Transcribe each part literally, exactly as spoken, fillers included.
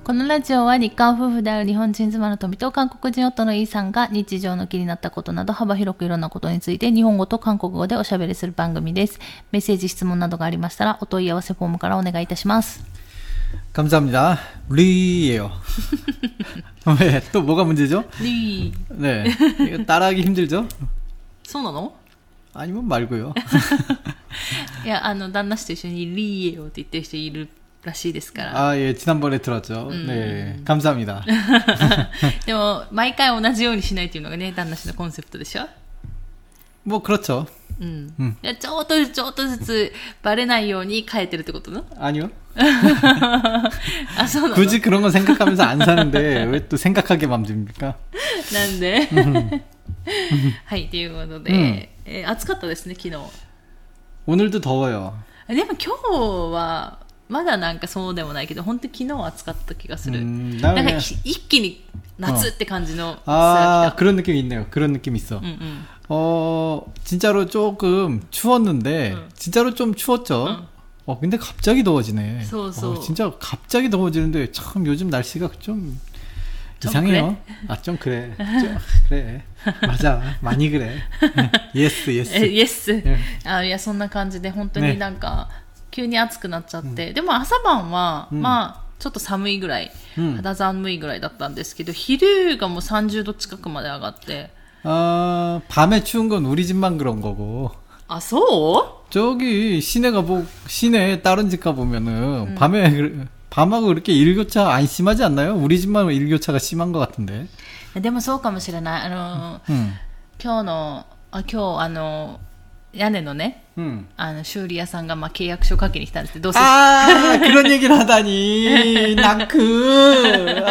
このラジオは日韓夫婦である日本人妻の富と韓国人夫のイーさんが日常の気になったことなど幅広くいろんなことについて日本語と韓国語でおしゃべりする番組です。メッセージ質問などがありましたらお問い合わせフォームからお願いいたします。 감사합니다. 리예요. 왜? 또 뭐가 문제죠? 리. 네. 이거 따라하기 힘들죠? そうなの? 아니면 말고요. いや、あの旦那氏と一緒にリーエよって言ってる人いるらしいですから。 아, 예, 지난번에 들었죠. 음. 네, 감사합니다. でも毎回同じようにしないっていうのがね、旦那氏のコンセプトでしょ? 뭐 그렇죠. 음. 음. ちょっとずつちょっとずつバレないように変えてるってことの? 아니요. 아, 굳이 그런 거 생각하면서 안 사는데 왜 또 생각하게 만듭니까? なんで? はい、ということで、うんえー、暑かったですね、昨日。 오늘도 더워요. でも今日はまだなんかそうでもないけど、本当に昨日は暑かった気がする。 음, なんか一気に夏って感じの 아, 그런 느낌이 있네요. 그런 느낌이 있어. 응, 응. 어, 진짜로 조금 추웠는데 응. 진짜로 좀 추웠죠. 응. 어, 근데 갑자기 더워지네. 소, 소. 어, 진짜 갑자기 더워지는데 참 요즘 날씨가 좀, 좀 이상해요. 그래? 아, 좀 그래. 좀 그래. 맞아. 많이 그래. 예스, 예스. 예스. 아, いや、そんな感じで本当になんか急に暑くなっちゃって、ね、でも朝晩は、うん、まあちょっと寒いぐらい、うん、肌寒いぐらいだったんですけど、昼がもうさんじゅうど近くまで上がって。 아, 밤에 추운 건 우리 집만 그런 거고. 아, 소? 저기 시내가 뭐 시내 다른 집 가 보면은 음. 밤에 밤하고 그렇게 일교차 안 심하지 않나요? 우리 집만 일교차가 심한 것 같은데. でもそうかもしれない。あの、うん、今日のあ今日あの屋根のね、うん、あの修理屋さんがまあ契約書書きに来たんですけど、どうせ 아 그런 얘기를 하다니 나크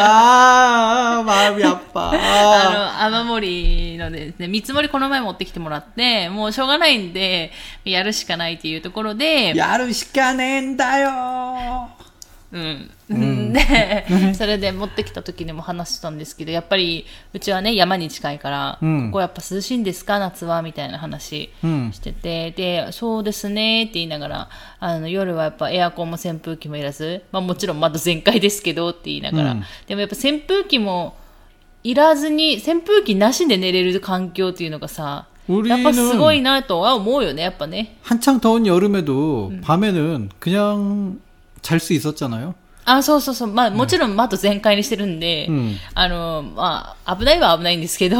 아 마음이 아파. あの雨漏りのですね、見積もりこの前持ってきてもらって、もうしょうがないんでやるしかないっていうところで、 やるしかねえんだよ。 うん、うん、でそれで持ってきた時にも話したんですけど、やっぱりうちはね山に近いから、うん、ここやっぱ涼しいんですか夏はみたいな話してて、うん、でそうですねって言いながら、あの夜はやっぱエアコンも扇風機もいらず、まあ、もちろん窓全開ですけどって言いながら、うん、でもやっぱ扇風機もいらずに扇風機なしで寝れる環境っていうのがさ、やっぱすごいなとは思うよね。やっぱね 한창 더운 여름에도 음. 밤에는 그냥 잘 수 있었잖아요. あ、そうそうそう。まあもちろん窓全開にしてるんで、うん、あのまあ危ないは危ないんですけど、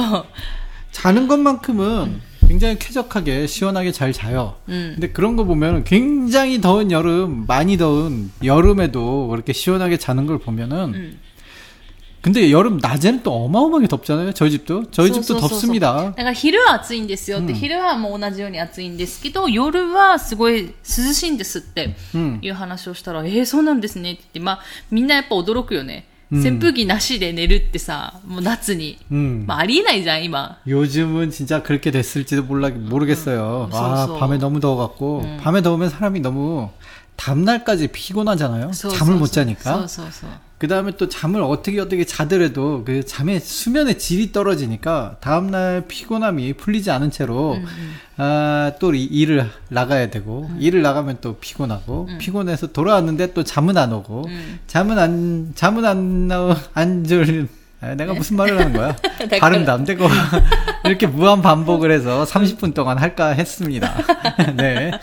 자는 것만큼은 음. 굉장히 쾌적하게 시원하게 잘 자요. 음. 근데 그런 거 보면 굉장히 더운 여름, 많이 더운 여름에도 그렇게 시원하게 자는 걸 보면은 음. 근데 여름 낮에는 또 어마어마하게 덥잖아요. 저희 집도 저희 집도 덥습니다. だから昼は暑いんですよって、昼はもう同じように暑いんですけど、夜はすごい涼しいんですっていう話をしたら、えーそうなんですねって言って、まあみんなやっぱ驚くよね。 扇風機なしで寝るってさ、もう夏に、まあありえないじゃん今。 요즘은 진짜 그렇게 됐을지도 몰라 모르겠어요. 아, 밤에 너무 더워갖고 밤에 더우면 사람이 너무 다음날까지 피곤하잖아요. 잠을 못 자니까. 그 다음에 또 잠을 어떻게 어떻게 자더라도 그 잠의 수면의 질이 떨어지니까 다음날 피곤함이 풀리지 않은 채로 음, 음. 아, 또 일을 나가야 되고 음. 일을 나가면 또 피곤하고 음. 피곤해서 돌아왔는데 또 잠은 안 오고 음. 잠은 안 잠은 안 나오 안 졸 아, 내가 네? 무슨 말을 하는 거야? 발음도 안 되고 이렇게 무한 반복을 해서 삼십 분 동안 할까 했습니다. 네.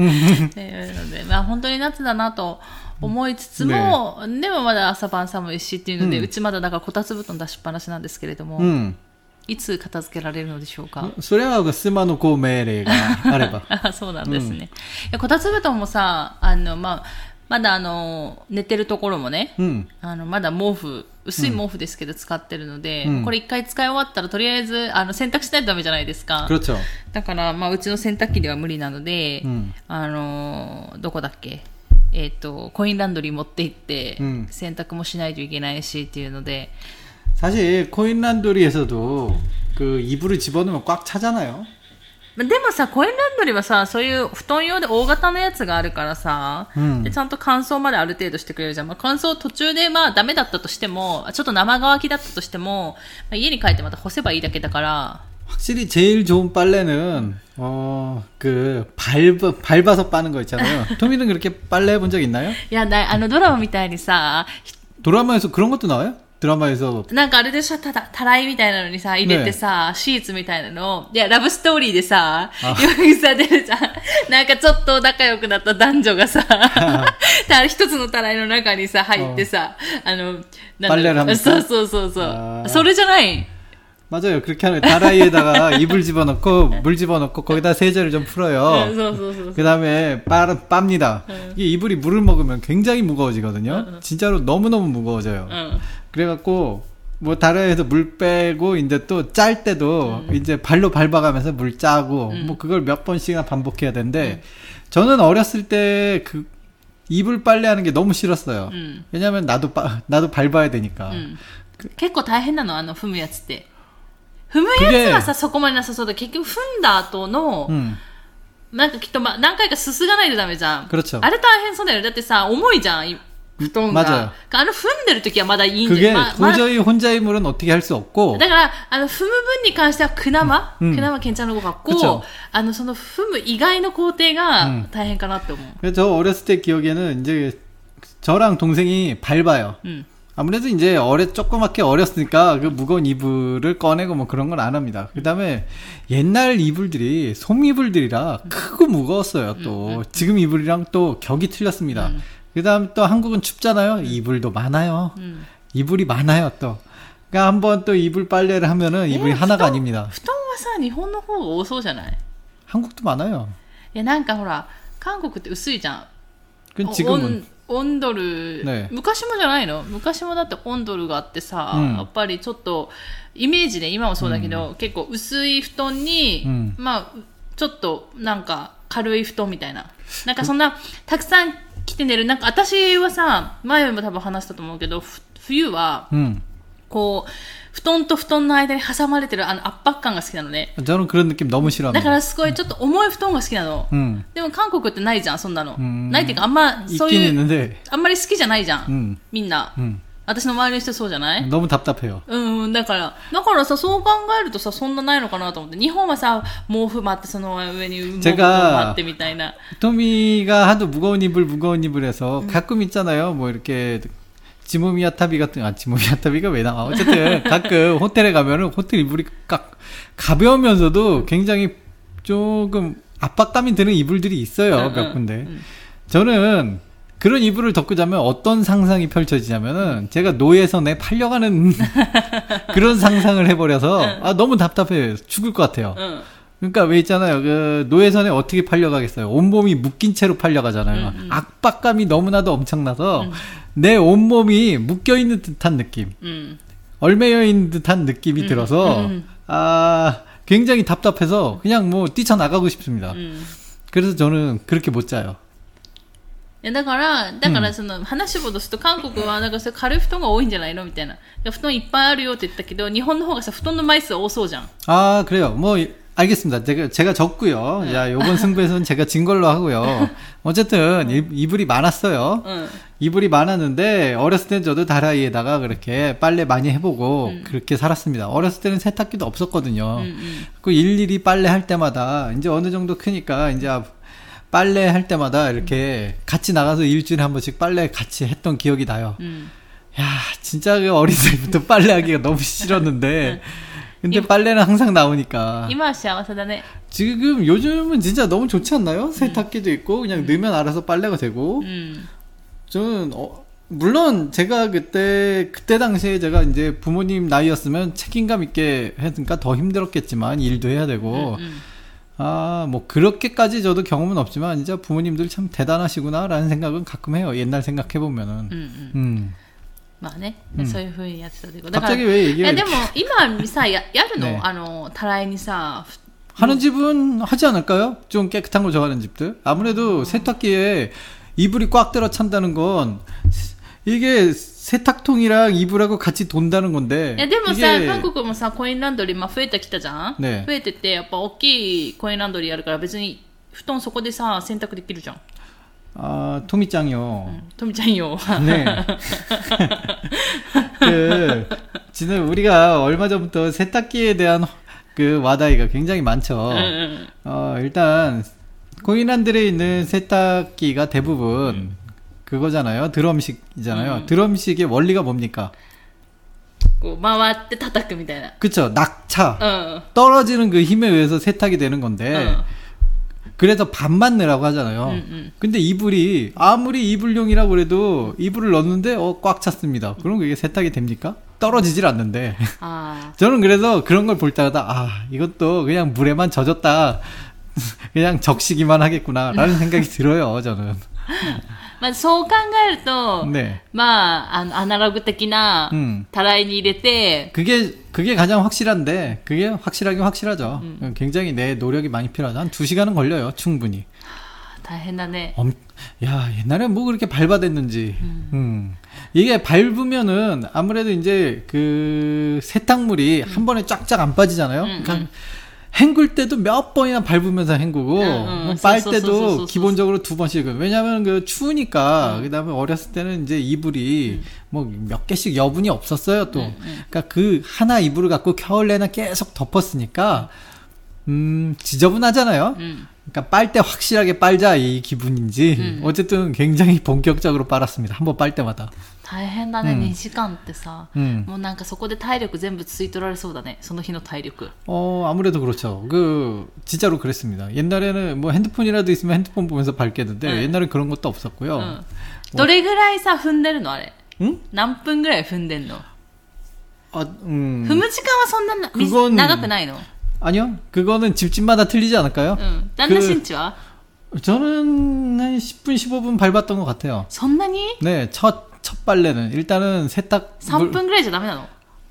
네, まあ本当に夏だなと思いつつも、ね、でもまだ朝晩寒いしっていうので、うん、うちまだだからこたつ布団出しっぱなしなんですけれども、うん、いつ片付けられるのでしょうか。 それはスマのこう命令があればあ、そうなんですね、うん、いやこたつ布団もさ、あの、まあ、まだあの寝てるところもね、うん、あのまだ毛布薄い毛布ですけど使ってるので、うん、これ一回使い終わったらとりあえずあの洗濯しないとダメじゃないですか。だから、まあ、うちの洗濯機では無理なので、うん、あのどこだっけ、えっと、コインランドリー持って行って、うん、洗濯もしないといけないしっていうので、 사실 코인 란도리에서도 그 이불을 집어넣으면 꽉 차잖아요. でもさ、コインランドリーはさ、そういう布団用で大型のやつがあるからさ、うん、でちゃんと乾燥まである程度してくれるじゃん。まあ、乾燥途中でまあダメだったとしても、ちょっと生乾きだったとしても、まあ、家に帰ってまた干せばいいだけだから。 확실히 제일 좋은 빨래는 어, 그 밟, 밟아서 빠는 거 있잖아요. 토미는 그렇게 빨래 해본 적 있나요? 야, 나, あのドラマみたいにさ、 드라마에서 그런 것도 나와요? 드라마에서. なんかあれでしょ、ただ、たらいみたいなのにさ、入れてさ、ね、シーツみたいなの。いや、ラブストーリーでさ、よくさ、出るじゃん。なんかちょっと仲良くなった男女がさ、一つのたらいの中にさ、入ってさ、あの、なんだそうそうそうそう。それじゃない。 맞아요. 그렇게 하는 다라이에다가 이불 집어넣고 물 집어넣고 거기다 세제를 좀 풀어요. 그 다음에 빠, 빱니다. 이게 이불이 물을 먹으면 굉장히 무거워지거든요. 진짜로 너무너무 무거워져요. 그래갖고 뭐 다라이에서 물 빼고 이제 또 짤 때도 이제 발로 밟아가면서 물 짜고 뭐 그걸 몇 번씩이나 반복해야 되는데 저는 어렸을 때 그 이불 빨래하는 게 너무 싫었어요. 왜냐면 나도 빠, 나도 밟아야 되니까. 結構大変なのあの踏むやつって。 踏むやつはさ、そこまでなさそうだ。結局踏んだ後の、うん、なんかきっと、ま、何回かすすがないとダメじゃん。あれ大変そうだよね。だってさ、重いじゃん、布団が。 맞아요. あの踏んでる時はまだいいんじゃん。 그게 도저히 혼자 힘으로는 어떻게 할 수 없고. だから、あの、踏む分に関しては、くなま、うん、くなま괜찮은 것 같고、あの、その踏む以外の工程が大変かなって思う。 그래서 저 어렸을 때 기억에는 이제 저랑 동생이 밟아요. 음. 아무래도 이제 어려, 조그맣게 어렸으니까 그 무거운 이불을 꺼내고 뭐 그런 건 안 합니다. 그 다음에 옛날 이불들이 솜이불들이라 크고 무거웠어요, 또. 지금 이불이랑 또 격이 틀렸습니다. 그 다음 또 한국은 춥잖아요. 이불도 많아요. 이불이 많아요, 또. 그러니까 한번 또 이불 빨래를 하면은 이불이 하나가 아닙니다. 布団はさ、日本の方が多そうじゃない? 한국도 많아요. いや、なんかほら、韓国って薄いじゃん。 그 지금은 オンドル、ね、昔もじゃないの？昔もだってオンドルがあってさ、うん、やっぱりちょっとイメージで今もそうだけど、うん、結構薄い布団に、うん、まあちょっとなんか軽い布団みたいな、なんかそんなたくさん着て寝る。なんか私はさ、前も多分話したと思うけど、冬は、うん、こう布団と布団の間に挟まれてるあの圧迫感が好きなのね。 저는 그런 느낌 너무 싫어합니다. だからすごいちょっと重い布団が好きなの。 음. でも韓国ってないじゃん、そんなの。 음. ないっていうかあんまそういうあんまり好きじゃないじゃん。 음. みんな。 음. 私の周りの人そうじゃない？ 너무 답답해요. うん、だからだからさ、そう考えるとさ、そんなないのかなと思って。日本はさ、毛布巻ってその上に毛布巻ってみたいな。 토미가 하도 무거운 이불 무거운 이불에서 음. 가끔 있잖아요. 뭐 이렇게 지모미야타비 같은, 아, 지모미야타비가 왜 나와? 어쨌든, 가끔 호텔에 가면은 호텔 이불이 깍, 가벼우면서도 굉장히 조금 압박감이 드는 이불들이 있어요, 응, 몇 군데. 응. 저는 그런 이불을 덮고 자면 어떤 상상이 펼쳐지냐면은, 제가 노예선에 팔려가는 그런 상상을 해버려서, 응. 아, 너무 답답해요. 죽을 것 같아요. 응. 그러니까 왜 있잖아요. 그 노예선에 어떻게 팔려가겠어요. 온몸이 묶인 채로 팔려가잖아요. 음, 음. 압박감이 너무나도 엄청나서 음. 내 온몸이 묶여있는 듯한 느낌. 음. 얼매여있는 듯한 느낌이 음, 들어서 음. 아 굉장히 답답해서 그냥 뭐 뛰쳐나가고 싶습니다. 음. 그래서 저는 그렇게 못 자요. だから、だからその話を戻すと、韓国はなんか軽い布団が多いんじゃないのみたいな。布団いっぱいあるよって言ったけど、日本の方がさ、布団の枚数多そうじゃん。 아, 그래요. 뭐 알겠습니다. 제가, 제가 졌고요. 응. 야, 요번 승부에서는 제가 진 걸로 하고요. 어쨌든, 응. 이불이 많았어요. 응. 이불이 많았는데, 어렸을 땐 저도 다라이에다가 그렇게 빨래 많이 해보고, 응. 그렇게 살았습니다. 어렸을 때는 세탁기도 없었거든요. 응, 응. 그 일일이 빨래 할 때마다, 이제 어느 정도 크니까, 이제 빨래 할 때마다 이렇게 같이 나가서 일주일에 한 번씩 빨래 같이 했던 기억이 나요. 응. 야, 진짜 그 어린 때부터 빨래하기가 너무 싫었는데, 근데 이, 빨래는 항상 나오니까. 이마幸せだね. 지금 요즘은 진짜 너무 좋지 않나요? 세탁기도 음. 있고 그냥 음. 넣으면 알아서 빨래가 되고. 음. 저는 어, 물론 제가 그때 그때 당시에 제가 이제 부모님 나이였으면 책임감 있게 했으니까 더 힘들었겠지만 일도 해야 되고. 음, 음. 아, 뭐 그렇게까지 저도 경험은 없지만 진짜 부모님들 참 대단하시구나라는 생각은 가끔 해요. 옛날 생각해 보면은. 음. 음. 음. まあね、うん、そういう風にやってたけど。 だから、いやでも今さ、や, やるの、ね、あの、たらいにさ。 하는 집은 하지 않을까요? 좀 깨끗한 거 좋아하는 집들. 아무래도 어. 세탁기에 이불이 꽉 들어 찬다는 건 이게 세탁통이랑 이불하고 같이 돈다는 건데. いやでもさ、韓国もさ、コインランドリー、まあ、増えてきたじゃん、ね、増えてて、やっぱ大きいコインランドリーあるから別に布団そこでさ、洗濯できるじゃん。 아, 토미짱이요. 응, 토미짱이요. 네. 그, 지금 우리가 얼마 전부터 세탁기에 대한 그 와다이가 굉장히 많죠. 응, 응. 어, 일단, 코인란들에 있는 세탁기가 대부분, 응. 그거잖아요. 드럼식이잖아요. 음. 드럼식의 원리가 뭡니까? 回って叩くみたいな. 그쵸. 낙차. 어. 떨어지는 그 힘에 의해서 세탁이 되는 건데 어. 그래서 반만 넣으라고 하잖아요. 음, 음. 근데 이불이 아무리 이불용이라고 그래도 이불을 넣는데 어, 꽉 찼습니다. 그럼 그게 세탁이 됩니까? 떨어지질 않는데. 아. 저는 그래서 그런 걸 볼 때마다 아 이것도 그냥 물에만 젖었다 그냥 적시기만 하겠구나 라는 생각이 들어요. 저는. まあ、そう考えると、ね、まあ、あの、アナログ的な、たらいに入れて、 그게, 그게 가장 확실한데, 그게 확실하긴 확실하죠. 음. 굉장히 내 노력이 많이 필요하죠. 한 두 시간은 걸려요, 충분히. 다행이네. 엄, 야, 옛날에 뭐 그렇게 밟아댔는지. 음. 음. 이게 밟으면은, 아무래도 이제, 그, 세탁물이 음. 한 번에 쫙쫙 안 빠지잖아요? 음, 그러니까, 음. 헹굴 때도 몇 번이나 밟으면서 헹구고, 응, 응. 빨 때도 기본적으로 두 번씩. 왜냐면 그 추우니까, 응. 그 다음에 어렸을 때는 이제 이불이 응. 뭐 몇 개씩 여분이 없었어요, 또. 응, 응. 그러니까 그 하나 이불을 갖고 겨울 내내 계속 덮었으니까, 음, 지저분하잖아요? 응. 그러니까 빨 때 확실하게 빨자 이 기분인지, 응. 어쨌든 굉장히 본격적으로 빨았습니다. 한번 빨 때마다. 大変だね、うん、にじかんってさ、うん、もうなんかそこで体力全部吸い取られそうだねその日の体力 어 아무래도 그렇죠 그 진짜로 그랬습니다 옛날에는 뭐 핸드폰이라도 있으면 핸드폰 보면서 밟겠는데 응. 옛날엔 그런 것도 없었고요 응. どれぐらいさ踏んでるのあれん何分ぐらい踏んでんのあ、음, 踏む時間はそんな그건,長くないの 아니요 그거는 집집마다 틀리지 않을까요? 응. 딴 신치와? 저는 한 십 분 십오 분 밟았던 것 같아요 そんなに? 네 첫 첫 빨래는 일단은 세탁 さんぷんぐらいじゃダメなの?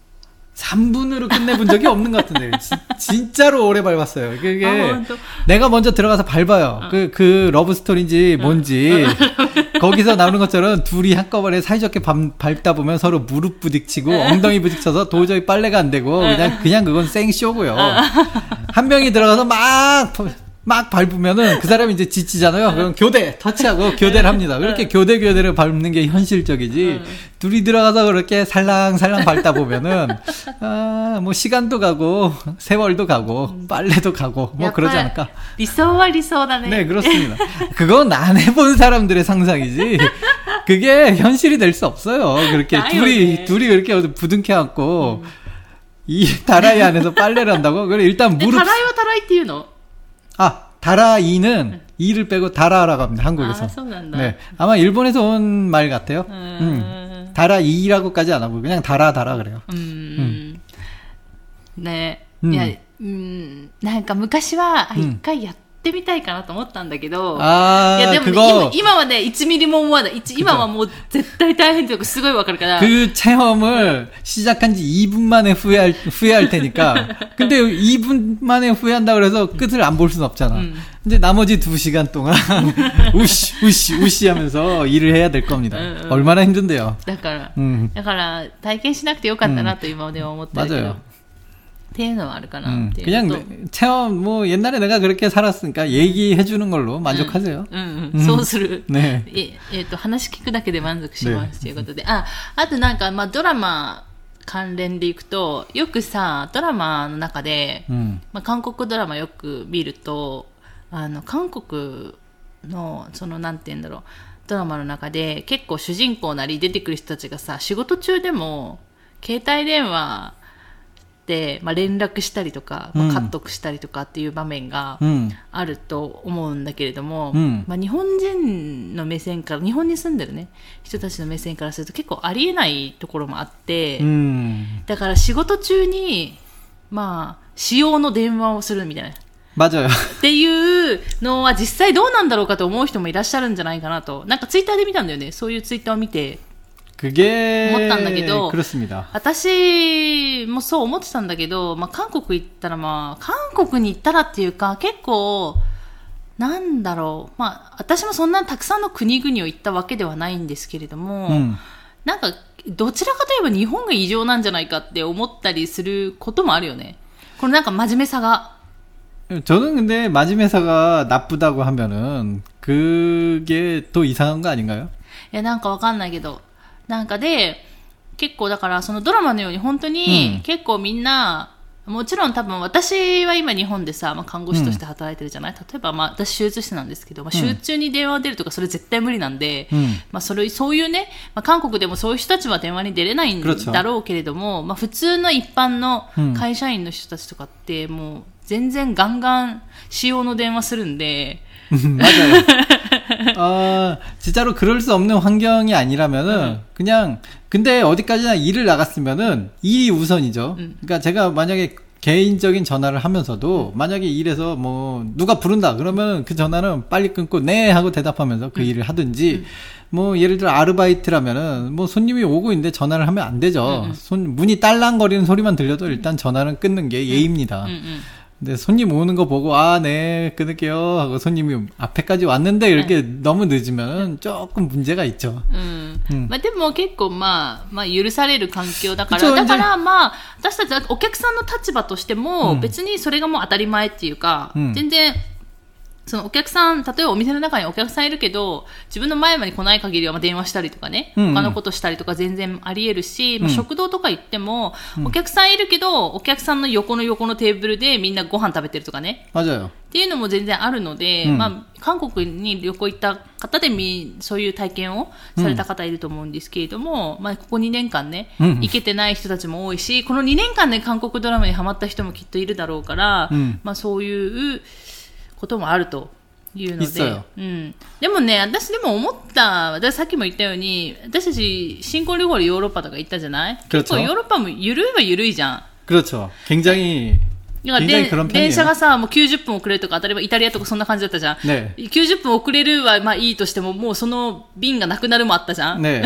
삼 분으로 끝내본 적이 없는 것 같은데 지, 진짜로 오래 밟았어요. 그게 아, 내가 먼저 들어가서 밟아요. 어. 그, 그 러브스토리인지 뭔지 어. 거기서 나오는 것처럼 둘이 한꺼번에 사이좋게 밟, 밟다 보면 서로 무릎 부딪히고 엉덩이 부딪혀서 도저히 빨래가 안 되고 그냥 그냥 그건 생쇼고요. 한 명이 들어가서 막 막 밟으면은 그 사람이 이제 지치잖아요. 그럼 교대 터치하고 교대를 합니다. 그렇게 교대 교대를 밟는 게 현실적이지. 둘이 들어가서 그렇게 살랑살랑 밟다 보면은 아, 뭐 시간도 가고 세월도 가고 빨래도 가고 뭐 그러지 않을까. 리소와 리소다네. 네, 그렇습니다. 그건 안 해본 사람들의 상상이지. 그게 현실이 될 수 없어요. 그렇게 둘이 둘이 그렇게 부둥켜 갖고 음. 이 다라이 안에서 빨래를 한다고? 그래 일단 무릎. 다라이와 다라이っていうの? 아, 다라이는 이를 빼고 다라라고 합니다. 한국에서. 아, 네, 아마 일본에서 온 말 같아요. 음. 음. 다라이라고까지 안 하고 그냥 다라 다라 그래요. 음. 음. 네. 음. いや、うんなんか昔は一回やってみたいかなと思ったんだけど、 あいやでも、ね、今, 今はねいちミリも思わない。今はもう絶対大変というかすごいわかるから。 그 체험을 시작한 지 이 분 만에 후회할 후회할 테니까. 근데 이 분 만에 후회한다 그래서 끝을 안 볼 수는 없잖아. 음. 근데 나머지 두 시간 동안 우시 우시 우시 하면서 일을 해야 될 겁니다. 음, 음. 얼마나 힘든데요. だから、うん、だから体験しなくてよかったなと今では思ってるけど。 맞아요. っていうのはあるかな。 음, 그냥 체험 뭐 옛날에 내가 그렇게 살았으니까 얘기해 주는 걸로 만족하세요. うん、うん、そうする。ね。え、えっと話聞くだけで満足しますということで、あ、あとなんかまあドラマ関連でいくとよくさドラマの中で、うん、まあ韓国ドラマよく見るとあの韓国のそのなんて言うんだろうドラマの中で結構主人公なり出てくる人たちがさ仕事中でも携帯電話で、まあ、連絡したりとか、まあ、カットしたりとかっていう場面があると思うんだけれども、うんまあ、日本人の目線から日本に住んでるね人たちの目線からすると結構ありえないところもあって、うん、だから仕事中にまあ私用の電話をするみたいな 맞아요 っていうのは実際どうなんだろうかと思う人もいらっしゃるんじゃないかなとなんかツイッターで見たんだよねそういうツイッターを見て 그게 思ったんだけど 그렇습니다. 私もそう思ってたんだけど、まあ、韓国行ったらまあ韓国に行ったらっていうか結構なんだろうまあ私もそんなにたくさんの国々を行ったわけではないんですけれども、うん、なんかどちらかといえば日本が異常なんじゃないかって思ったりすることもあるよね。これなんか真面目さが 저는 근데 마지메사가 나쁘다고 하면은 그게 또 이상한 거 아닌가요? いやなんかわかんないけどなんかで結構だからそのドラマのように本当に結構みんなもちろん多分私は今日本でさ、まあ、看護師として働いてるじゃない、うん、例えば、まあ、私手術室なんですけど、まあ、手術中に電話出るとかそれ絶対無理なんで、うんまあ、それそういうね、まあ、韓国でもそういう人たちは電話に出れないんだろうけれども、まあ、普通の一般の会社員の人たちとかってもう全然ガンガン使用の電話するんで 맞아요. 어, 진짜로 그럴 수 없는 환경이 아니라면은 음. 그냥 근데 어디까지나 일을 나갔으면은 일이 우선이죠. 음. 그러니까 제가 만약에 개인적인 전화를 하면서도 만약에 일에서 뭐 누가 부른다 그러면 그 전화는 빨리 끊고 네 하고 대답하면서 그 음. 일을 하든지 음. 뭐 예를 들어 아르바이트라면은 뭐 손님이 오고 있는데 전화를 하면 안 되죠. 음. 손 문이 딸랑거리는 소리만 들려도 일단 전화는 끊는 게 예의입니다. 음. 음. 근데 손님 오는 거 보고 아, 네, 끊을게요 하고 손님이 앞에까지 왔는데 이렇게 네. 너무 늦으면 조금 문제가 있죠. 음. 음. まあでも結構まあまあ許される環境だからだからまあ私たちはお客さんの立場としても別にそれがもう当たり前っていうか、うん、全然そのお客さん、例えばお店の中にお客さんいるけど、自分の前まで来ない限りはまあ電話したりとかね、うんうん、他のことしたりとか全然あり得るし、うんまあ、食堂とか行っても、うん、お客さんいるけど、お客さんの横の横のテーブルでみんなご飯食べてるとかね。 맞아요。 っていうのも全然あるので、うん、まあ、韓国に旅行行った方でみ、そういう体験をされた方いると思うんですけれども、うん、まあ、ここにねんかんね、うん、行けてない人たちも多いし、このにねんかんで韓国ドラマにハマった人もきっといるだろうから、うん、まあ、そういうこともあると。いうので、うん、でもね、私でも思った、私さっきも言ったように、私たち新婚旅行でヨーロッパとか行ったじゃない？結構ヨーロッパも緩いは緩いじゃん。 그렇죠。굉장히 電車がさ、もうきゅうじゅっぷん遅れるとか、当たり前イタリアとかそんな感じだったじゃん。ね、きゅうじゅっぷん遅れるはまあいいとしても、もうその便がなくなるもあったじゃん。ね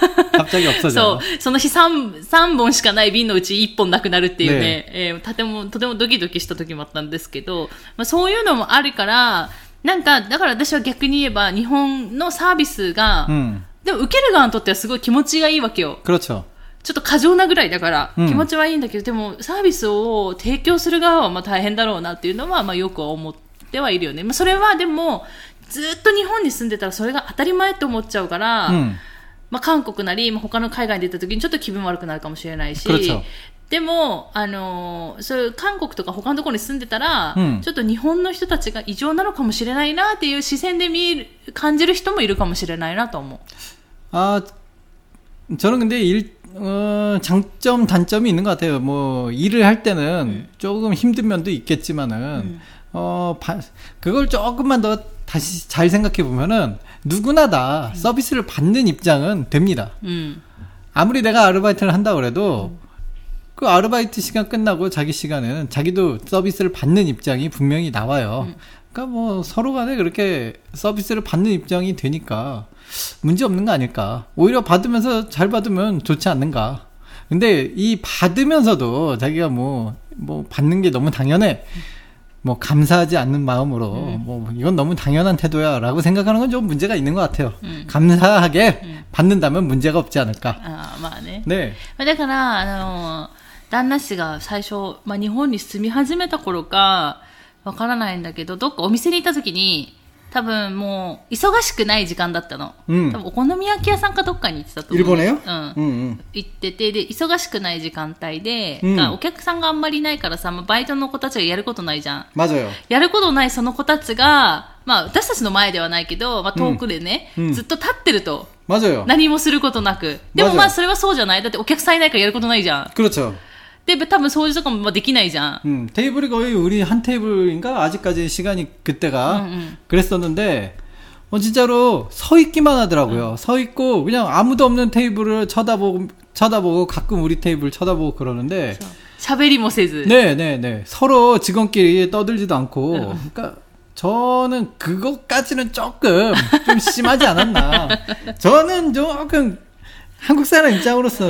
갑자기 없어져。そう、その日 3, さんぼんしかない便のうちいっぽんなくなるっていうね、ねえー、とてもとてもドキドキした時もあったんですけど、まあ、そういうのもあるから、なんか、だから私は逆に言えば、日本のサービスが、うん、でも受ける側にとってはすごい気持ちがいいわけよ。 그렇죠。 ちょっと過剰なぐらいだから、気持ちはいいんだけど、うん、でもサービスを提供する側はまあ大変だろうなっていうのは、まあよく思ってはいるよね。まあそれはでも、ずっと日本に住んでたらそれが当たり前って思っちゃうから、うん、まあ韓国なり、他の海外に出た時にちょっと気分悪くなるかもしれないし、でも、あのー、そういう韓国とか他のところに住んでたら、うん、ちょっと日本の人たちが異常なのかもしれないなっていう視線で見る、感じる人もいるかもしれないなと思う。 あ、저는 근데 일, 어, 장점, 단점이 있는 것 같아요. 뭐, 일을 할 때는 음. 조금 힘든 면도 있겠지만은, 음. 어, 바, 그걸 조금만 더 다시 잘 생각해 보면은, 누구나 다 음. 서비스를 받는 입장은 됩니다. 음. 아무리 내가 아르바이트를 한다고 그래도, 음. 그 아르바이트 시간 끝나고 자기 시간에는 자기도 서비스를 받는 입장이 분명히 나와요. 음. 그러니까 뭐 서로 간에 그렇게 서비스를 받는 입장이 되니까 문제 없는 거 아닐까. 오히려 받으면서 잘 받으면 좋지 않는가. 근데 이 받으면서도 자기가 뭐, 뭐 받는 게 너무 당연해. 뭐 감사하지 않는 마음으로 음. 뭐 이건 너무 당연한 태도야 라고 생각하는 건 좀 문제가 있는 것 같아요. 음. 감사하게 음. 받는다면 문제가 없지 않을까. 아, まあね。 네. だから、あの、旦那氏が最初、まあ、日本に住み始めた頃かわからないんだけど、どっかお店に行った時に多分もう忙しくない時間だったの、うん、多分お好み焼き屋さんかどっかに行ってたと思う。 일본에よ、 うんうんうん、行ってて、で忙しくない時間帯で、うん、お客さんがあんまりいないからさ、まあ、バイトの子たちがやることないじゃん。 맞아요。 やることないその子たちが、まあ、私たちの前ではないけど、まあ、遠くでね、うん、ずっと立ってると、 맞아요。 何もすることなく。でもまあそれはそうじゃない。だってお客さんいないからやることないじゃん。 그렇죠。 で、多分掃除とかもできないじゃん。 음, 테이블이 거의 우리 한 테이블인가 아직까지 시간이 그때가 음, 음. 그랬었는데 어, 진짜로 서 있기만 하더라고요. 음. 서 있고 그냥 아무도 없는 테이블을 쳐다보고 쳐다보고 가끔 우리 테이블 쳐다보고 그러는데 しゃべりもせず 네네네 서로 직원끼리 떠들지도 않고 음. 그러니까 저는 그것까지는 조금 좀 심하지 않았나. 저는 조금 한국 사람 입장으로서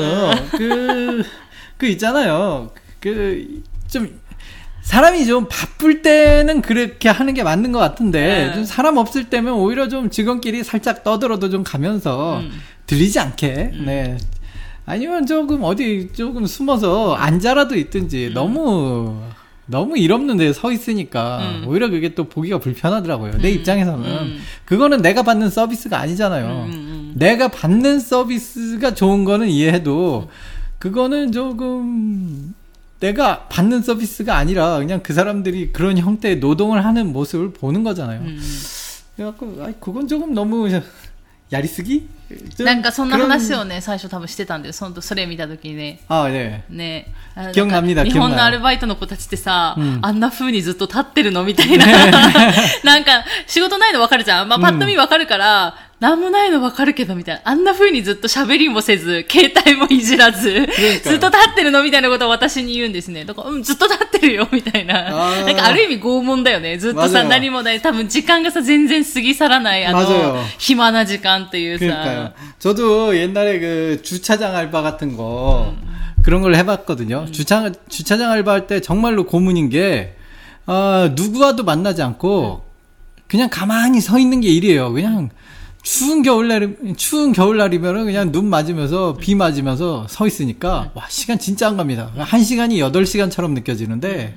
그, 그 있잖아요. 그, 좀, 사람이 좀 바쁠 때는 그렇게 하는 게 맞는 것 같은데, 네. 좀 사람 없을 때면 오히려 좀 직원끼리 살짝 떠들어도 좀 가면서 음. 들리지 않게, 음. 네. 아니면 조금 어디 조금 숨어서 앉아라도 있든지 음. 너무, 너무 일 없는 데에 서 있으니까 음. 오히려 그게 또 보기가 불편하더라고요. 음. 내 입장에서는. 음. 그거는 내가 받는 서비스가 아니잖아요. 음. 음. 내가 받는 서비스가 좋은 거는 이해해도 그거는 조금 내가 받는 서비스가 아니라 그냥 그 사람들이 그런 형태의 노동을 하는 모습을 보는 거잖아요. 음. 그래갖고 아, 그건 조금 너무 야리쓰기? なんかそんな話をね最初多分してたんで、そのそれ見た時にね。 ああね。 ね。 日本のアルバイトの子たちってさ、うん、あんな風にずっと立ってるのみたいな。なんか仕事ないの分かるじゃん。まあパッと見分かるから。うんなんもないの分かるけどみたいな。あんな風にずっと喋りもせず、携帯もいじらず、ずっと立ってるのみたいなことを私に言うんですね。だから、うん、ずっと立ってるよみたいな。なんかある意味拷問だよね。ずっとさ、何もない。多分時間がさ、全然過ぎ去らない、あの、暇な時間っていうさ。 저도 옛날에 그 주차장 알바 같은 거, 음. 그런 걸 해봤거든요. 음. 주차, 주차장 알바할 때 정말로 고문인 게, 아, 누구와도 만나지 않고, 그냥 가만히 서 있는 게 일이에요. 그냥, 추운 겨울날, 추운 겨울날이면은 그냥 눈 맞으면서, 비 맞으면서 서 있으니까, 와, 시간 진짜 안 갑니다. 한 시간이 여덟 시간처럼 느껴지는데,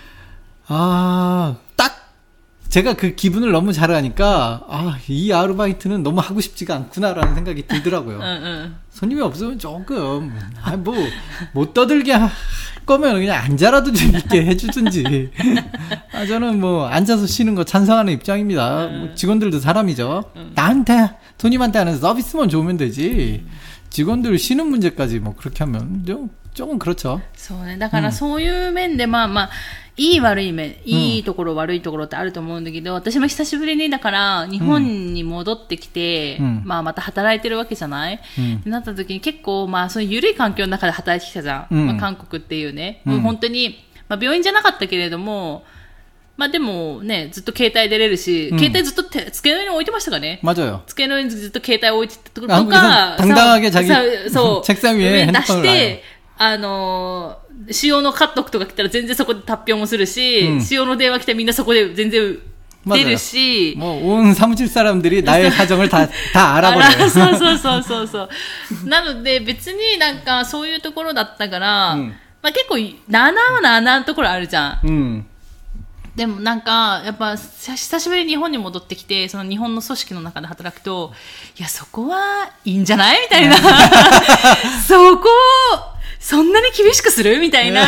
아, 딱, 제가 그 기분을 너무 잘 아니까, 아, 이 아르바이트는 너무 하고 싶지가 않구나라는 생각이 들더라고요. 응, 응. 손님이 없으면 조금, 아, 뭐, 못 떠들게 할 거면 그냥 앉아라도 좀 있게 해주든지. 아, 저는 뭐, 앉아서 쉬는 거 찬성하는 입장입니다. 뭐 직원들도 사람이죠. 나한테, 손님한테 하는 서비스만 좋으면 되지. 직원들 쉬는 문제까지 뭐, 그렇게 하면 좀, 조금 그렇죠. そうね。だからそういう面で、まあまあ、いい悪い面、いいところ、うん、悪いところってあると思うんだけど、私も久しぶりにだから日本に戻ってきて、うん、まあまた働いてるわけじゃない、うん、ってなった時に結構まあそういう緩い環境の中で働いてきたじゃん。うん、まあ、韓国っていうね、うん、もう本当に、まあ病院じゃなかったけれども、まあでもね、ずっと携帯出れるし、うん、携帯ずっと手机の上に置いてましたからね。 맞아요。 机の上にずっと携帯置いてたとか、 당당하게 자기 そう、 책상 위에 出して、あのー、塩のカットとか来たら全然そこで発表もするし、うん、塩の電話来たらみんなそこで全然出るし、 もう온 사무실 사람들이 나의 사정을 다 다 알아버려요. そうそうそうそうそう。なので別になんかそういうところだったから、うん、まあ結構ななはななのところあるじゃん。うん、でもなんかやっぱ久しぶりに日本に戻ってきて、その日本の組織の中で働くと、いやそこはいいんじゃないみたいな。そこそんなに厳しくするみたいな。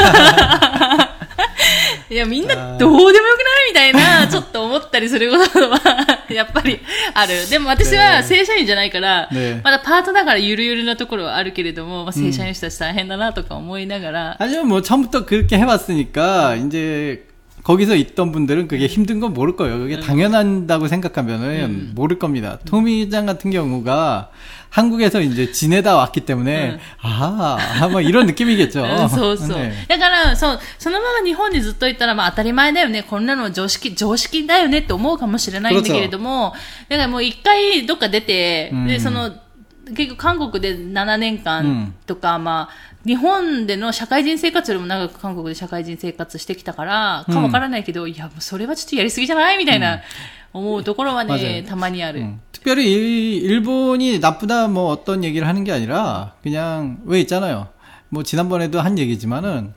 いや、みんなどうでもよくないみたいな、ちょっと思ったりすることは、やっぱりある。でも私は正社員じゃないから、ね、まだパートだからゆるゆるなところはあるけれども、まあ、正社員の人たち大変だなとか思いながら。 하지만 뭐 처음부터 그렇게 해왔으니까, 이제, 거기서 있던 분들은 그게 힘든 건 모를 거예요. 그게 음. 당연하다고 생각하면은 음. 모를 겁니다. 음. 토미짱 같은 경우가 한국에서 이제 지내다 왔기 때문에 음. 아, 뭐 이런 느낌이겠죠. そうそう。だからそうそのまま日本にずっといたらまあ当たり前だよね。こんなの常識常識だよねって思うかもしれないんだけれども、だからもう一回どっか出て、うん、でその結構韓国でななねんかんとか、うん、まあ日本での社会人生活よりも長く韓国で社会人生活してきたからかわからないけど、うん、いやもうそれはちょっとやりすぎじゃないみたいな、思うところはね、たまにある。 특별히 일본이 나쁘다 뭐 어떤 얘기를 하는 게 아니라 그냥 왜 있잖아요. 뭐 지난번에도 한 얘기지만은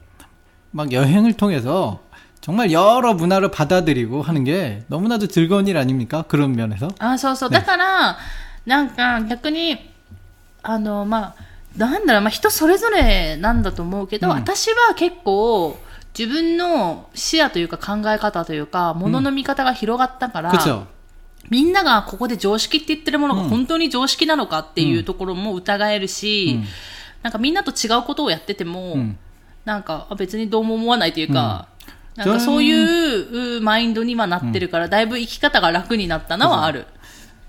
막 여행을 통해서 정말 여러 문화를 받아들이고 하는 게 너무나도 즐거운 일 아닙니까? 그런 면에서. 아, そうそう。だからなんか逆にあのまあなんだろう、まあ、人それぞれなんだと思うけど、うん、私は結構自分の視野というか考え方というか物の見方が広がったから、うん、みんながここで常識って言ってるものが本当に常識なのかっていうところも疑えるし、うん、なんかみんなと違うことをやってても、うん、なんか別にどうも思わないというか、うん、なんかそういうマインドにはなってるから、だいぶ生き方が楽になったのはある。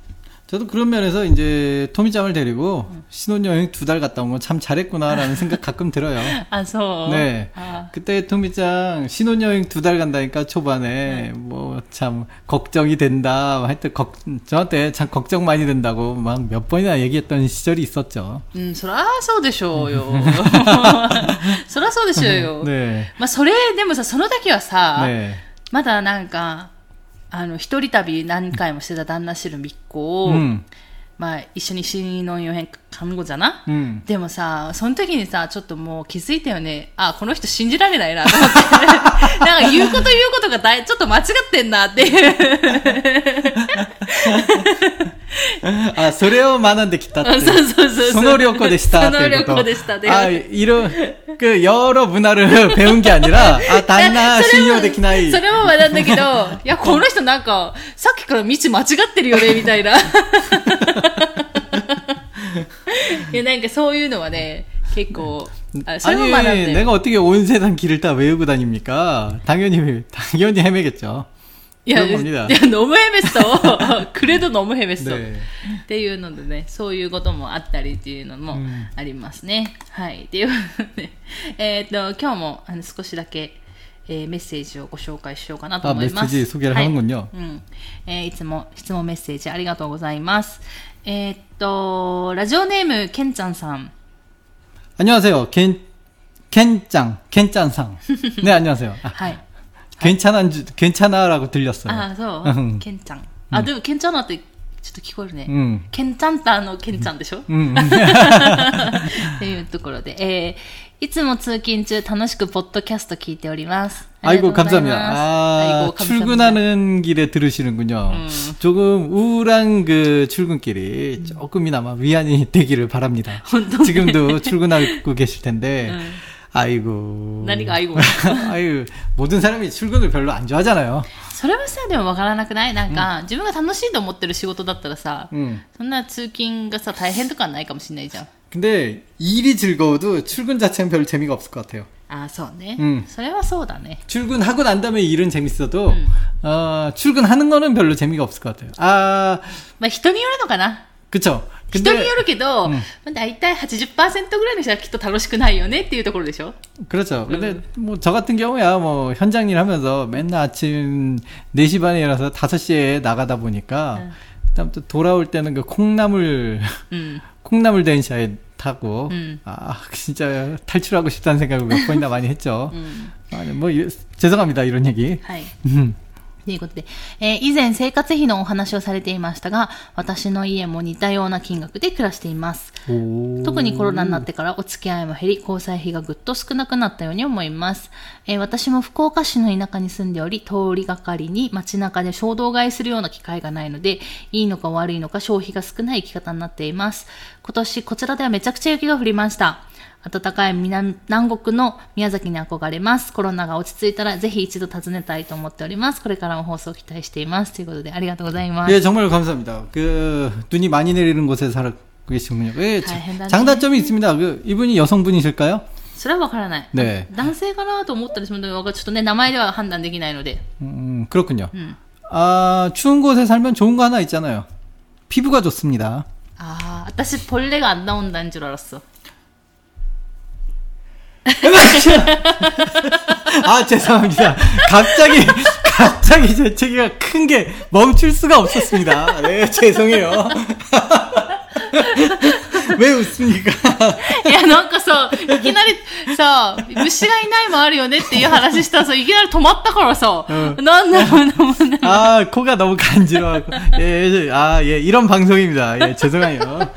저도 그런 면에서 이제 토미짱을 데리고 응. 신혼여행 두 달 갔다 온 건 참 잘했구나라는 생각 가끔 들어요. 아, 저. 네. 아. 그때 토미짱 신혼여행 두 달 간다니까 초반에 응. 뭐 참 걱정이 된다. 하여튼 걱, 저한테 참 걱정 많이 된다고 막 몇 번이나 얘기했던 시절이 있었죠. 음, そらそうでしょうよ。そらそうでしょうよ。ね。まあそれでもさ、その時はさ、ね、まだなんか。あの一人旅何回もしてた旦那氏の密航を、うん、まあ一緒に新のよへん看護じゃな、うん、でもさその時にさちょっともう気づいたよね。あこの人信じられないなと思ってなんか言うこと言うことがだいちょっと間違ってんなっていうあ、それを学んできたって。 そうそうそう。 その旅行でしたっていうこと。 その旅行でしたね。 아, 이런 그 여러 문화를 배운 게 아니라 아, 단나 신용できない。 それも学んだけど、いや、この人なんかさっきから道間違ってるよねみたいな。いや、なんかそういうのはね、結構 아니, 내가 어떻게 온 세상 길을 다 외우고 다닙니까? 당연히, 당연히 헤매겠죠. いや、いや、너무 헤맸어. 그래도 너무 헤맸어. 네. っていうのでね、そういうこともあったりっていうのもありますね。うん、はい。っていうので、えっと、今日もあの少しだけ、えー、メッセージをご紹介しようかなと思います。 あ、メッセージ소개를 하는군요。 はい、うん。えー、いつも質問メッセージありがとうございます。えー、っと、ラジオネーム、ケンちゃんさん。 안녕하세요. 켄, 켄짱, 켄짱상. 네, 안녕하세요. 아, 괜찮아, 괜찮아라고 들렸어요. 아, そう. 켄짱. 아, 근데 괜찮아ってちょっと聞こえるね。켄짱다の켄짱でしょ？っていうところで、えーいつも通勤中楽しくポッドキャスト聞いております。 아이고 감사합니다. 아, 아이고, 감사합니다. 출근하는 길에 들으시는군요. 음. 조금 우울한 그 출근길이 조금이나마 위안이 되기를 바랍니다. 지금도 출근하고 계실 텐데. 음. 아이고. 何が 아이고. 아이고. 모든 사람이 출근을 별로 안 좋아하잖아요. それはさ、でもわからなくない？なんか、自分が楽しいと思ってる仕事だったらさ、そんな通勤がさ、大変とかないかもしれないじゃん。 근데 일이 즐거워도 출근 자체는 별 재미가 없을 것 같아요. 아, そうね. 음. それはそうだね. 출근하고 난 다음에 일은 재밌어도 음. 어, 출근하는 거는 별로 재미가 없을 것 같아요. 아, まあ人によるのかな. 그쵸. 人によるけど、だいたい 팔십 퍼센트 ぐらいの人はきっと楽しくないよねっていうところでしょ? 그렇죠. 근데 음. 뭐 저 같은 경우야 뭐 현장 일 하면서 맨날 아침 네 시 반에 일어나서 다섯 시에 나가다 보니까 음. 그다음 또 돌아올 때는 그 콩나물 음. 콩나물電車에 타고 음. 아 진짜 탈출하고 싶다는 생각을 몇 번이나 많이 했죠. 음. 아니, 뭐 죄송합니다 이런 얘기. はい。ということで、えー、以前生活費のお話をされていましたが、私の家も似たような金額で暮らしています。特にコロナになってからお付き合いも減り、交際費がぐっと少なくなったように思います。えー、私も福岡市の田舎に住んでおり、通りがかりに街中で衝動買いするような機会がないので、いいのか悪いのか消費が少ない生き方になっています。今年こちらではめちゃくちゃ雪が降りました。暖かい南、南国の宮崎に憧れます。コロナが落ち着いたらぜひ一度訪ねたいと思っております。これからも放送を期待しています。ということでありがとうございます。 예, 정말 감사합니다. 그 눈이 많이 내리는 곳에 살고 계시군요. 예, 장단점이 있습니다. 그 이분이 여성분이실까요? それはわからない。 네. 男性かなと思ったりするので、ちょっとね名前では判断できないので。 음, 그렇군요. 음. 아, 추운 곳에 살면 좋은 거 하나 있잖아요. 피부가 좋습니다. 아, 私 벌레가 안 나온다는 줄 알았어. 아, 죄송합니다. 갑자기, 갑자기 재채기가 큰 게 멈출 수가 없었습니다. 네, 죄송해요. 왜 웃습니까? いや、なんかさ、いきなりさ、虫がいないもあるよねっていう話したらさ、いきなり止まったからさ、なんだろうなもんね。 아, 코가 너무 간지러워갖고. 예, 아, 예, 이런 방송입니다. 예, 죄송해요.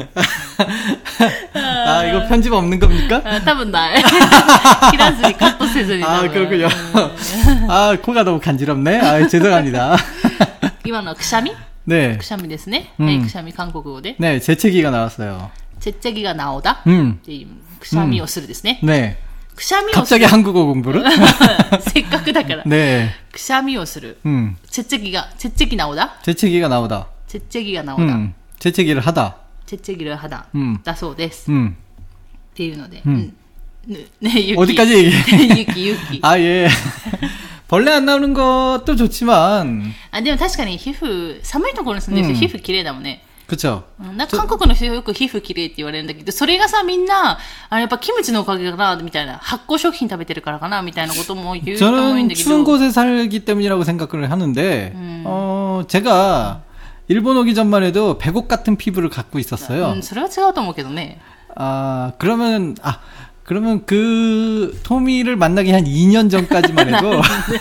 아, 이거 편집 없는 겁니까? 아, 多分ない。切らずにカットせずに。 아, 그렇군요. 아, 코가 너무 간지럽네. 아, 죄송합니다. 今のはくしゃみ? 네. くしゃみですね. 음. 네, くしゃみ 한국어로. 네, 재채기가 나왔어요. 재채기가 나오다? 음. くしゃみをするですね. 네. くしゃみをする. 갑자기 한국어 공부를? せっかくだから. 네. くしゃみをする. 음. 재채기가, 재채기 나오다? 재채기가 나오다. 재채기가 나오다. 음. 재채기를 하다. 재채기를 하다. 음. だそうです. 음. っていうので. 음. 네, 유키. 어디까지 얘기해? 유키, 유키. 아, 예. 벌레 안 나오는 것도 좋지만. 아, でも確かに皮膚、寒いところに住んでる人、皮膚綺麗だもんね。 그쵸. なんか韓国の人よく皮膚綺麗って言われるんだけど、それがさ、みんな、あれやっぱキムチのおかげかな、みたいな、発酵食品食べてるからかな、みたいなことも言う人も多いんだけど。 저는 추운 곳에 살기 때문이라고 생각을 하는데, 음. 어, 제가 일본 오기 전만 해도 백옥 같은 피부를 갖고 있었어요. 음, それは違うと思うけどね. 아, 그러면, 아, 그러면 그 토미를 만나기 한 이 년 전까지만 해도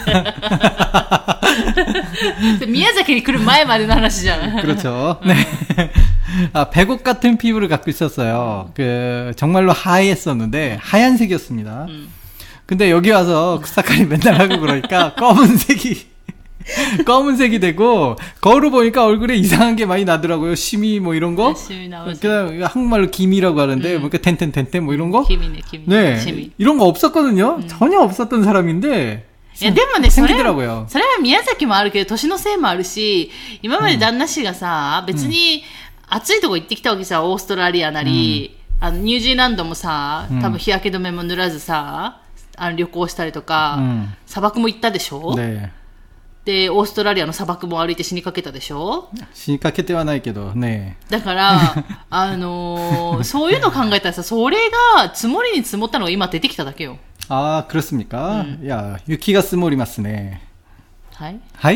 미야자키에来る前までの話じゃん. 그렇죠. 네. 아, 백옥 같은 피부를 갖고 있었어요. 그 정말로 하얘었는데 하얀색이었습니다. 근데 여기 와서 쿠사카리 맨날 하고 그러니까 검은색이 검은색이 되고 거울을 보니까 얼굴에 이상한 게 많이 나더라고요. 심이 뭐 이런 거. 심이 나오지. 그냥 한국말로 김이라고 하는데 음. 뭐 텐텐텐텐 뭐 이런 거. 김이네, 김. 네. 심이. 이런 거 없었거든요. 음. 전혀 없었던 사람인데. いやでもね、それは、それは宮崎もあるけど、年のせいもあるし、今まで旦那氏がさ、うん、別に暑いとこ行ってきたわけさ、オーストラリアなり、うん、あのニュージーランドもさ、多分日焼け止めも塗らずさ、あの旅行したりとか、うん、砂漠も行ったでしょ、ね、で、オーストラリアの砂漠も歩いて死にかけたでしょ。 死にかけてはないけどね。 だから、あのー、そういうの考えたらさ、それが積もりに積もったのが今出てきただけよ。 ああ、그렇습니까? 음. 야,雪が積もりますね。 はい。 はい。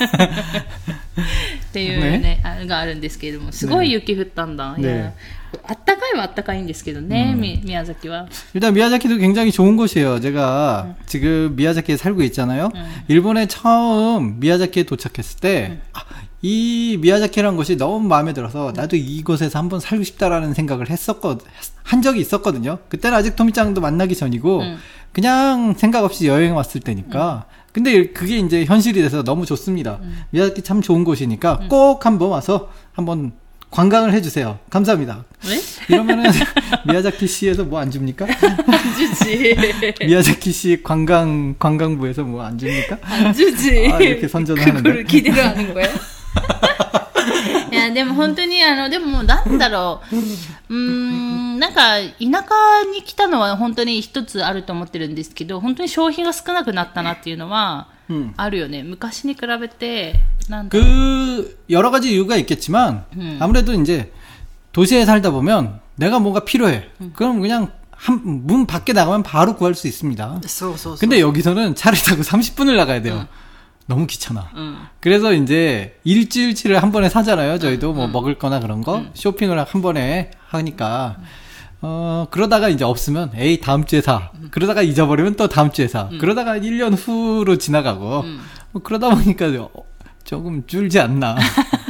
っていうね、あれがあるんですけれども、すごい雪降ったんだ。 네. いや、あったかいはあったかいんですけどね、 음. 미, 미야자키와. 일단 미야자키도 굉장히 좋은 곳이에요. 제가 음. 지금 미야자키에 살고 있잖아요. 음. 일본에 처음 미야자키에 도착했을 때, 음. 아, 이 미야자키라는 곳이 너무 마음에 들어서 나도 이곳에서 한번 살고 싶다라는 생각을 했었거, 한 적이 있었거든요. 그때는 아직 토미짱도 만나기 전이고, 음. 그냥 생각 없이 여행 왔을 때니까. 음. 근데 그게 이제 현실이 돼서 너무 좋습니다. 음. 미야자키 참 좋은 곳이니까 음. 꼭 한번 와서 한번 관광을 해주세요. 감사합니다. 왜? 이러면은 미야자키 시에서 뭐 안 줍니까? 안 주지. 미야자키 시 관광 관광부에서 뭐 안 줍니까? 안 주지. 아, 이렇게 선전을 하는데. 그거를 기대를 하는 거야? いやでも本当にあのでもなんだろう、うーんなんか田舎に来たのは本当に一つあると思ってるんですけど、本当に消費が少なくなったなっていうのはあるよね。 음. 昔に比べてなんだろう。 그 여러 가지 이유가 있겠지만 음. 아무래도 이제 도시에 살다 보면 내가 뭔가 필요해. 음. 그럼 그냥 한, 문 밖에 나가면 바로 구할 수 있습니다. 소, 소, 소. 근데 여기서는 차를 타고 삼십 분을 나가야 돼요. 음. 너무 귀찮아. 음. 그래서 이제 일주일치를 한 번에 사잖아요. 저희도 음. 뭐 먹을 거나 그런 거 음. 쇼핑을 한 번에 하니까 음. 어 그러다가 이제 없으면 에이 다음 주에 사. 음. 그러다가 잊어버리면 또 다음 주에 사. 음. 그러다가 일 년 후로 지나가고 음. 뭐 그러다 보니까 조금 줄지 않나.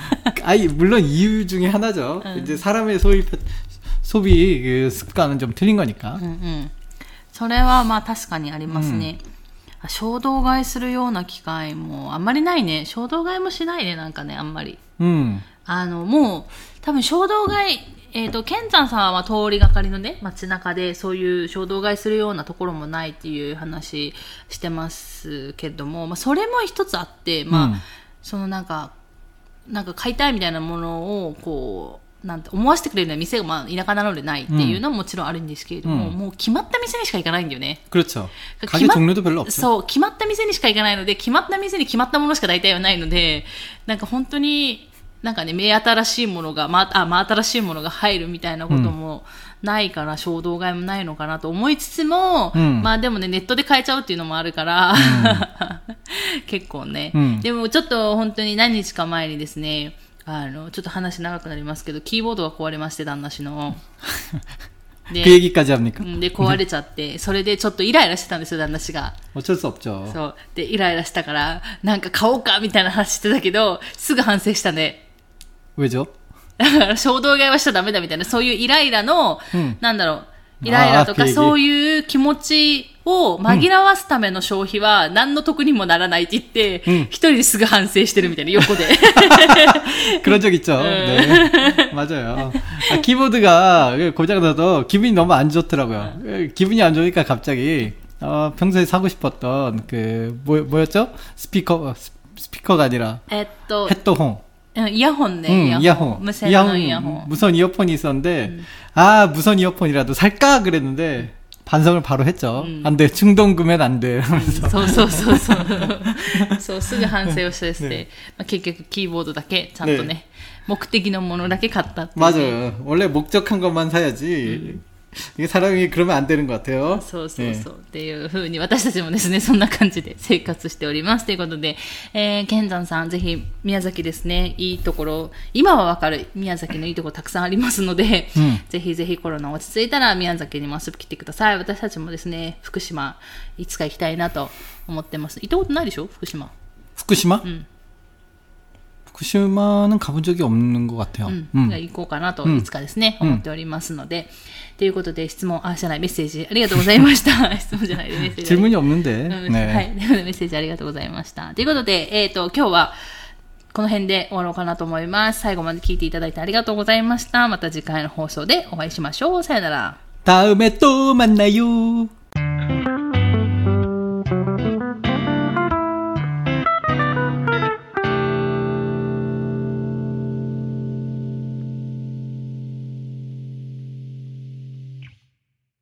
아이 물론 이유 중에 하나죠. 음. 이제 사람의 소비 소비 그 습관은 좀 틀린 거니까. 음, 음. それはまあ確かにありますね。 衝動買いするような機会もあんまりないね。衝動買いもしないね、なんかね、あんまり。 うん。 あの、もう、多分衝動買い、えっと、ケンちゃんさんは通りがかりのね、街中でそういう衝動買いするようなところもないっていう話してますけども、まあ、それも一つあって、まあ、うん、そのなんか、なんか買いたいみたいなものを、こう、なんて思わせてくれるような店が、まあ、田舎なのでないっていうのももちろんあるんですけれども、うん、もう決まった店にしか行かないんだよね。 그렇죠。가게 종류도 별로 없죠。 そう、決まった店にしか行かないので、決まった店に決まったものしか大体はないので、なんか本当に、なんかね、目新しいものが、まあ、まあ、新しいものが入るみたいなこともないから、うん、衝動買いもないのかなと思いつつも、うん、まあでもね、ネットで買えちゃうっていうのもあるから、うん、結構ね、うん、でもちょっと本当に何日か前にですね、あのちょっと話長くなりますけど、キーボードが壊れまして、旦那氏の。で、 그 얘기까지 합니까? で、壊れちゃって、それでちょっとイライラしてたんですよ、旦那氏が。 어쩔 수 없죠。 そう。で、イライラしたから、なんか買おうかみたいな話してたけど、すぐ反省したね。 왜죠？ だから衝動買いはしちゃダメだみたいな、そういうイライラの、うん、なんだろう、イライラとかそういう気持ちを紛らわすための消費は何の得にもならないって言って、うん、一人ですぐ反省してるみたいな、横で。 그런 적 있죠. 네. 맞아요. 아, 키보드가 고장나서 기분이 너무 안 좋더라고요. 기분이 안 좋으니까 갑자기, 어, 평소에 사고 싶었던 그, 뭐, 뭐였죠? 스피커, 스피커가 아니라. 에또. 헤드폰. 이어폰네. 응, 이어폰. 무선 이어폰. 이어폰. 무선 이어폰이 있었는데, 음. 아, 무선 이어폰이라도 살까? 그랬는데, 반성을 바로 했죠. 음. 안 돼. 충동 구매는 안 돼. 하면서. そうそうそうそう。そう、すぐ反省をしてですね。まあ、結局キーボードだけちゃんとね、 네. 目的のものだけ買ったっていう。 맞아요. 원래 목적한 것만 사야지. 음. 이게 사람이 그러면 안 되는 것 같아요. そうそうそう。っていう風に私たちもですね、そんな感じで生活しております。ということで、えー、ケンザンさん、ぜひ宮崎ですね、いいところ、今はわかる宮崎のいいところたくさんありますので、うん、ぜひぜひコロナ落ち着いたら宮崎にも遊び来てください。私たちもですね、福島、いつか行きたいなと思ってます。行ったことないでしょ、福島。 福島？ うん。 후쿠시마는 가본 적이 없는 것 같아요. うん、うん、じゃあ行こうかなといつかですね、うん、思っておりますので、ということで質問、あ、じゃない、メッセージありがとうございました。質問じゃないでメッセージ。 질문이없는데。 ね、はい、メッセージありがとうございました。ということで、えっと、今日はこの辺で終わろうかなと思います。最後まで聞いていただいてありがとうございました。また次回の放送でお会いしましょう。さよなら。 다음에 또 만나요.